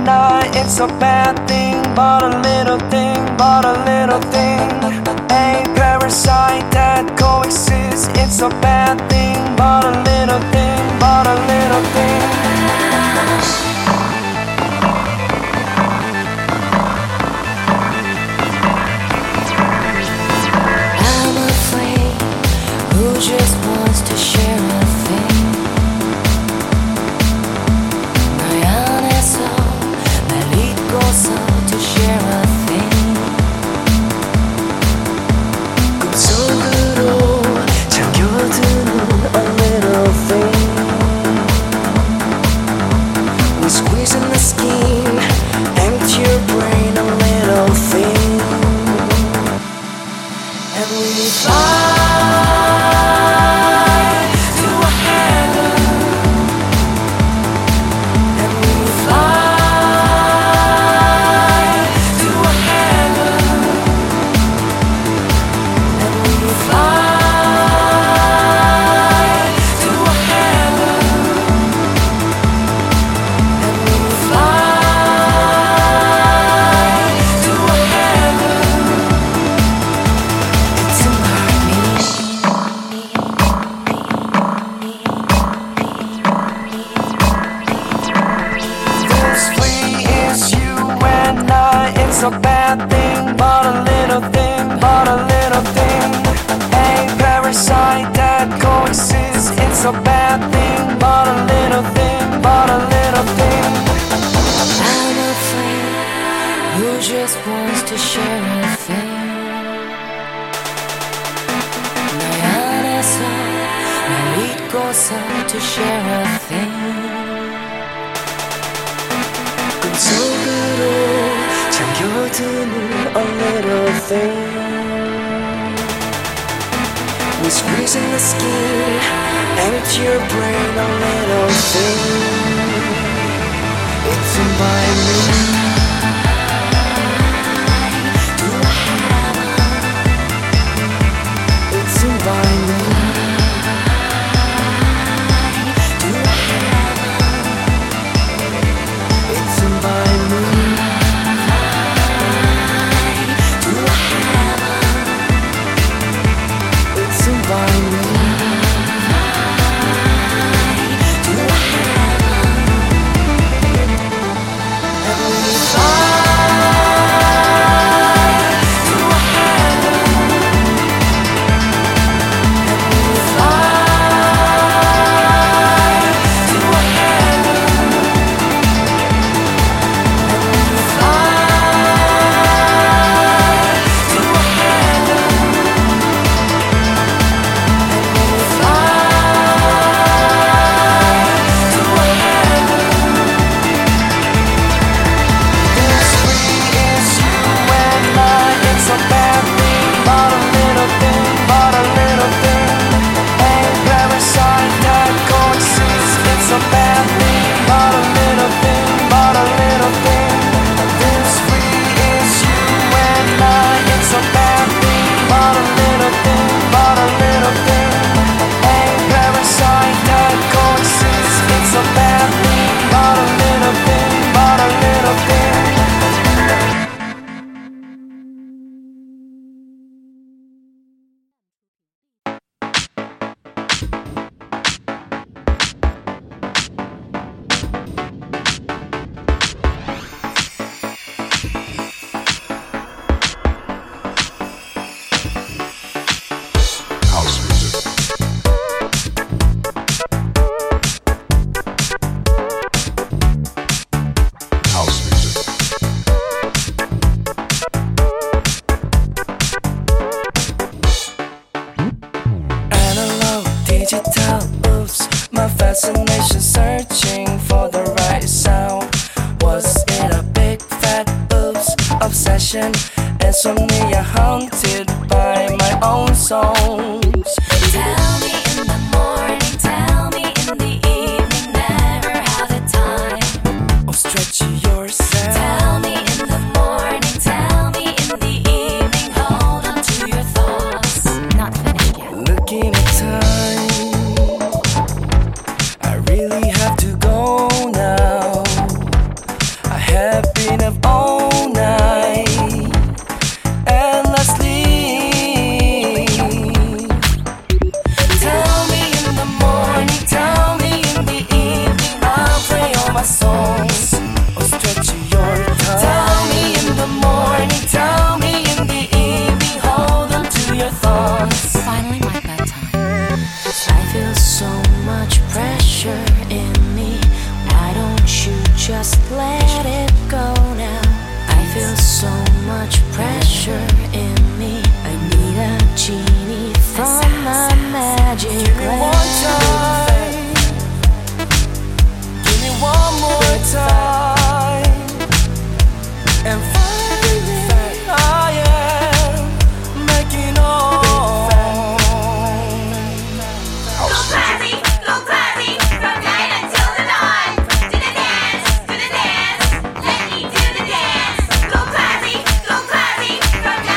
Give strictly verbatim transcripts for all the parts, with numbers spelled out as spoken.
not, it's a bad thing, but a little thing, but a little thing. A parasite that coexists, it's a bad thing, but a little thing, but a little thing. Who just wants to share a thing? 나의 안에서 날 잊고서 to share a thing. 꿈속으로 잠겨드는 a little thing. We squeeze in the skin, empty your brain, a little thing. And we fly a bad thing, but a little thing, but a little thing. A parasite that coexists, it's a bad thing, but a little thing, but a little thing. I'm a friend who just wants to share a thing. 나의 안에서 날 잊고서 to share a thing. 꿈속으로 잠겨드는 a little thing. We squeeze in the skin, empty your brain, a little thing. It's in by me. It's in by me. It's in by me. Fascination searching for the right sound. Was it a big fat oops obsession? Insomnia haunted by my own songs. Tell me in the morning, tell me in the evening, never have the time. Oh, stretch yourself. Tell me in the morning, tell me in the evening, hold on to your thoughts. Not finished yet. Looking at time, I really have to go now. I had songs or stretch your time. Tell me in the morning, tell me in the evening, hold on to your thoughts. Finally, my bedtime. I feel so much pressure in me. Why don't you just let it go now? I feel so much pressure in me. I need a genie from my magic Give me one lamp. time, give me one more time, and finally I am making all. Go crazy, go crazy, from night until the dawn. Do the dance, do the dance, let me do the dance. Go crazy, go crazy, from night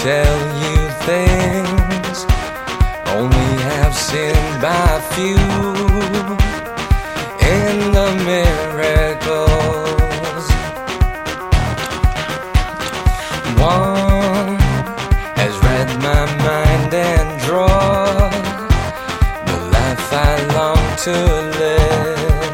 tell you things only have seen by few in the miracles. One has read my mind and drawn the life I long to live,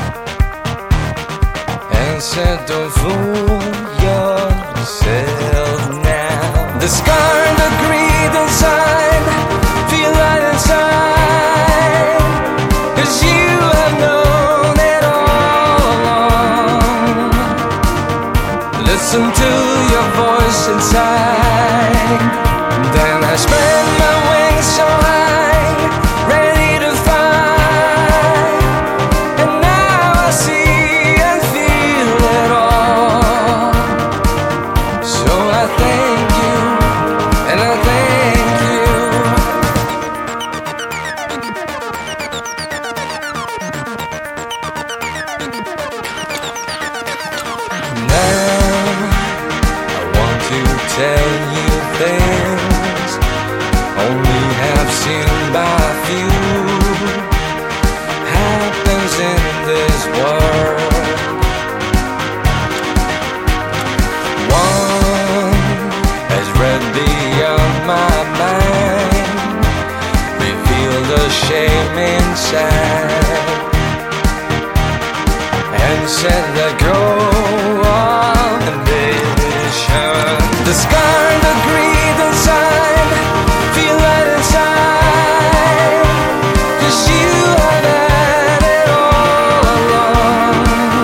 and said don't fool yourself now. Discard the greed inside, feel right inside, 'cause you have known it all along. Listen to your voice inside. Then I spread my wings so high, ready to fly, and now I see and feel it all. So I thank you, and I thank you. Now I want to tell you things only have seen by few. Happens in this world. One has read beyond my mind, revealed the shame inside, and said let go of ambition. Discard the greed inside, feel right inside, 'cause you have had it all along.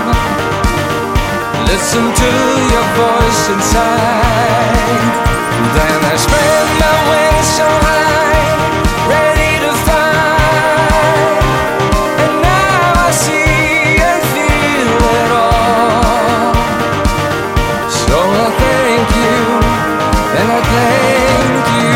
Listen to your voice inside. Then I spread my wings so high, ready to fly, and now I see and feel it all. So I thank you, and I thank you.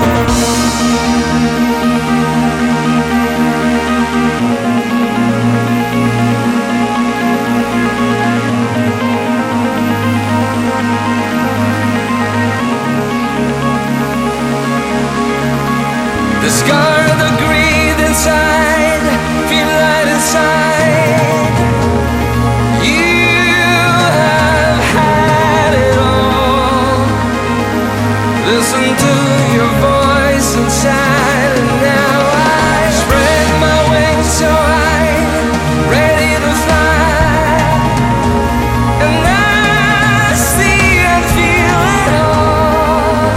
Discard the greed inside, feel right inside. You have had it all. Listen to your voice inside, and now I spread my wings so high, ready to fly, and I see and feel it all.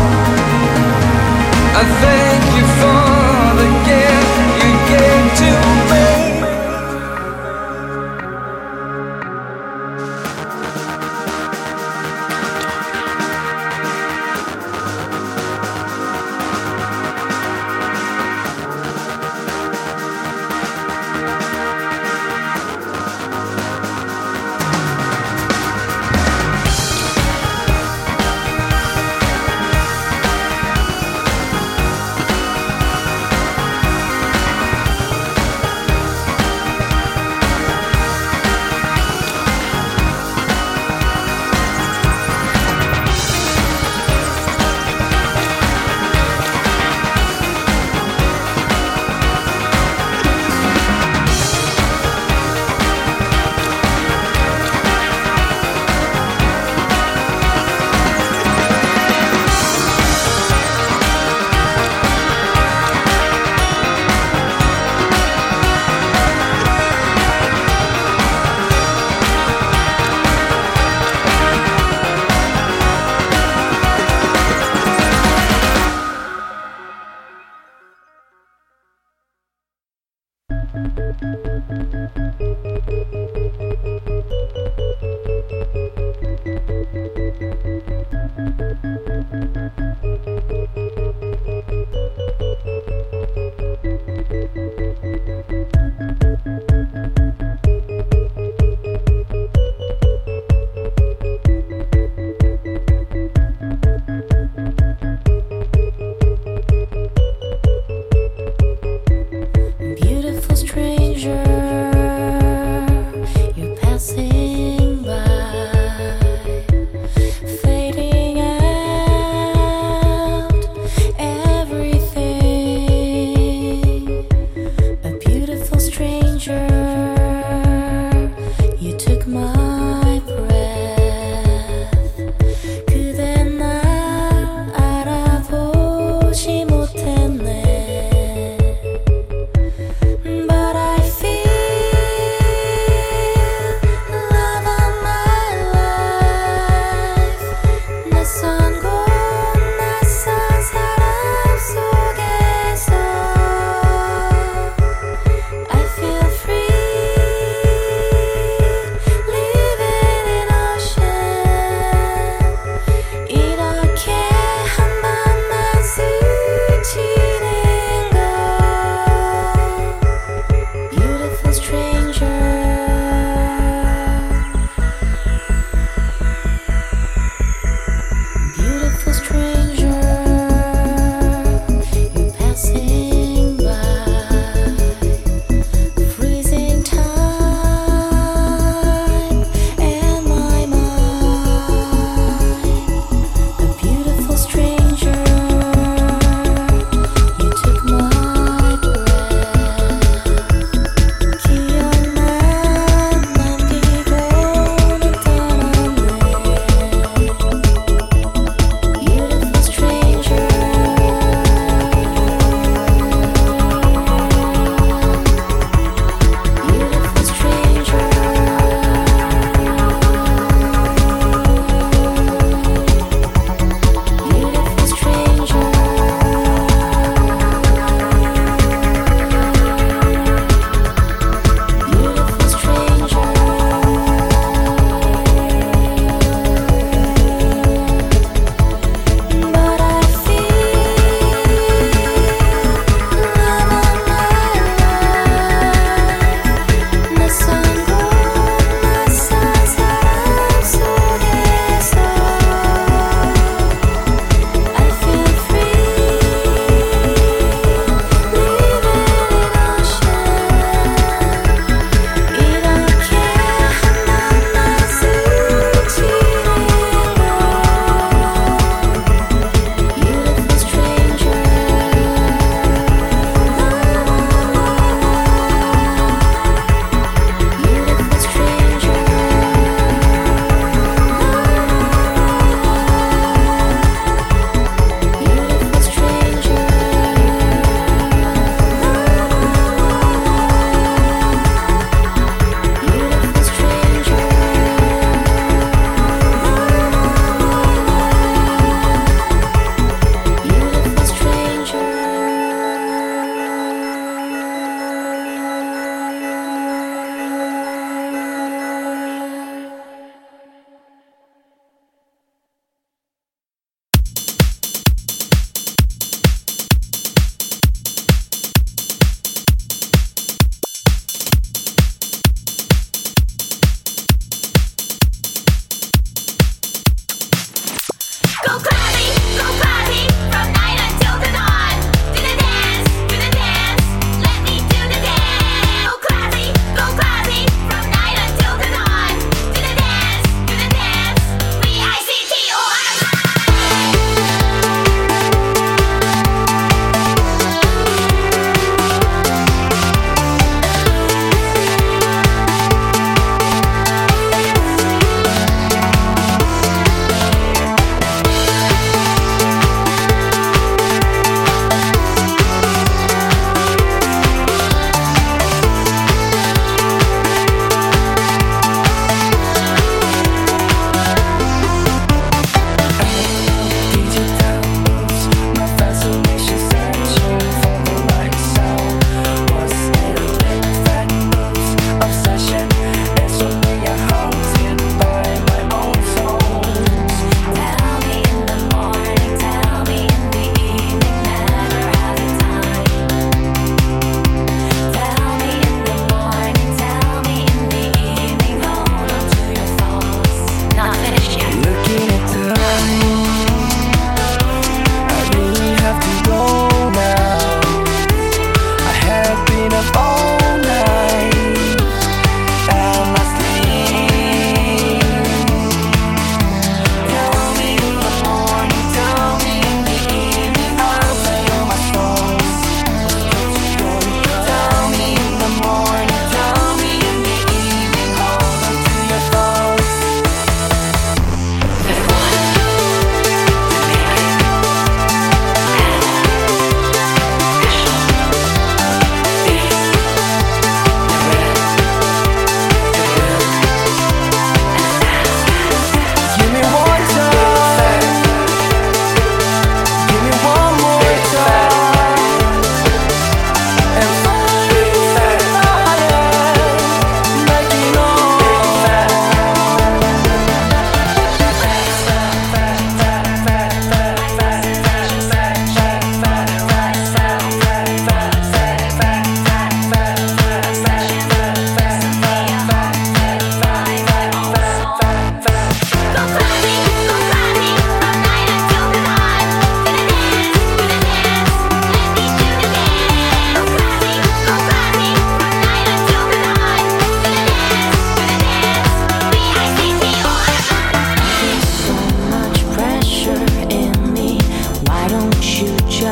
I thank you for the gift you gave to me.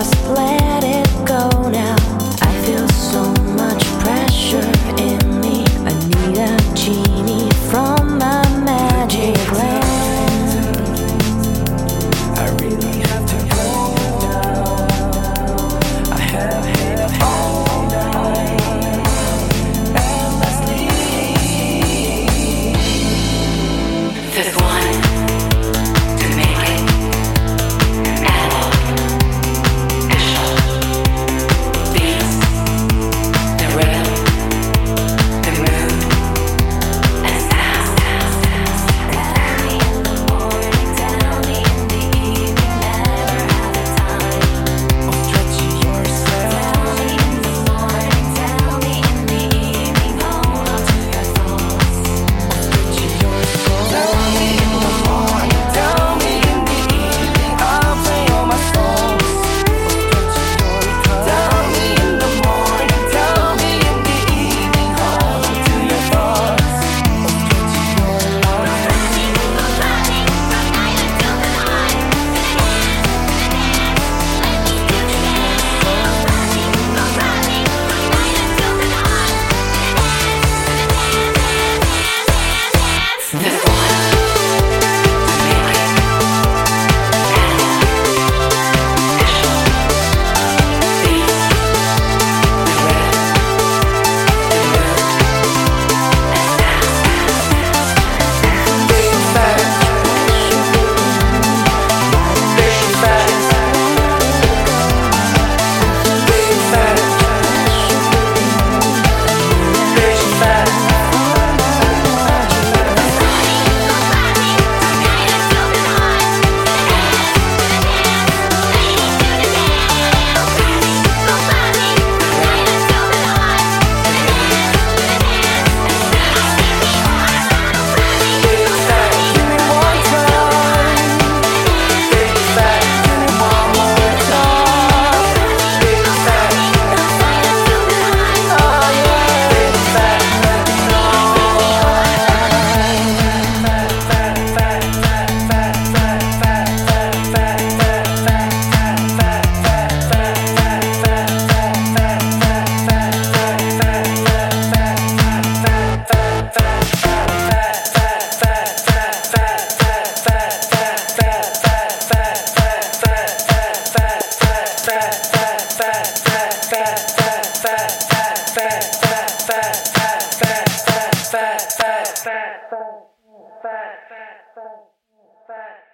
just let it go now. I feel so much pressure in me. I need a genie from my magic lamp. I really have to go now. I have hit all night endlessly. The one to make it analog, digital, beats, the rhythm, the mood, and sound. Tell me in the morning, tell me in the evening, never have the time. Oh, stretch yourself. Tell me in the morning, tell me in the evening, hold on to your thoughts. Tell me in the morning, tell me in the evening, I'll play all my songs. Tell me in the morning, tell me in the evening, hold on to your thoughts. Fat, fat, fat, fat, fat, fat, fat, fat.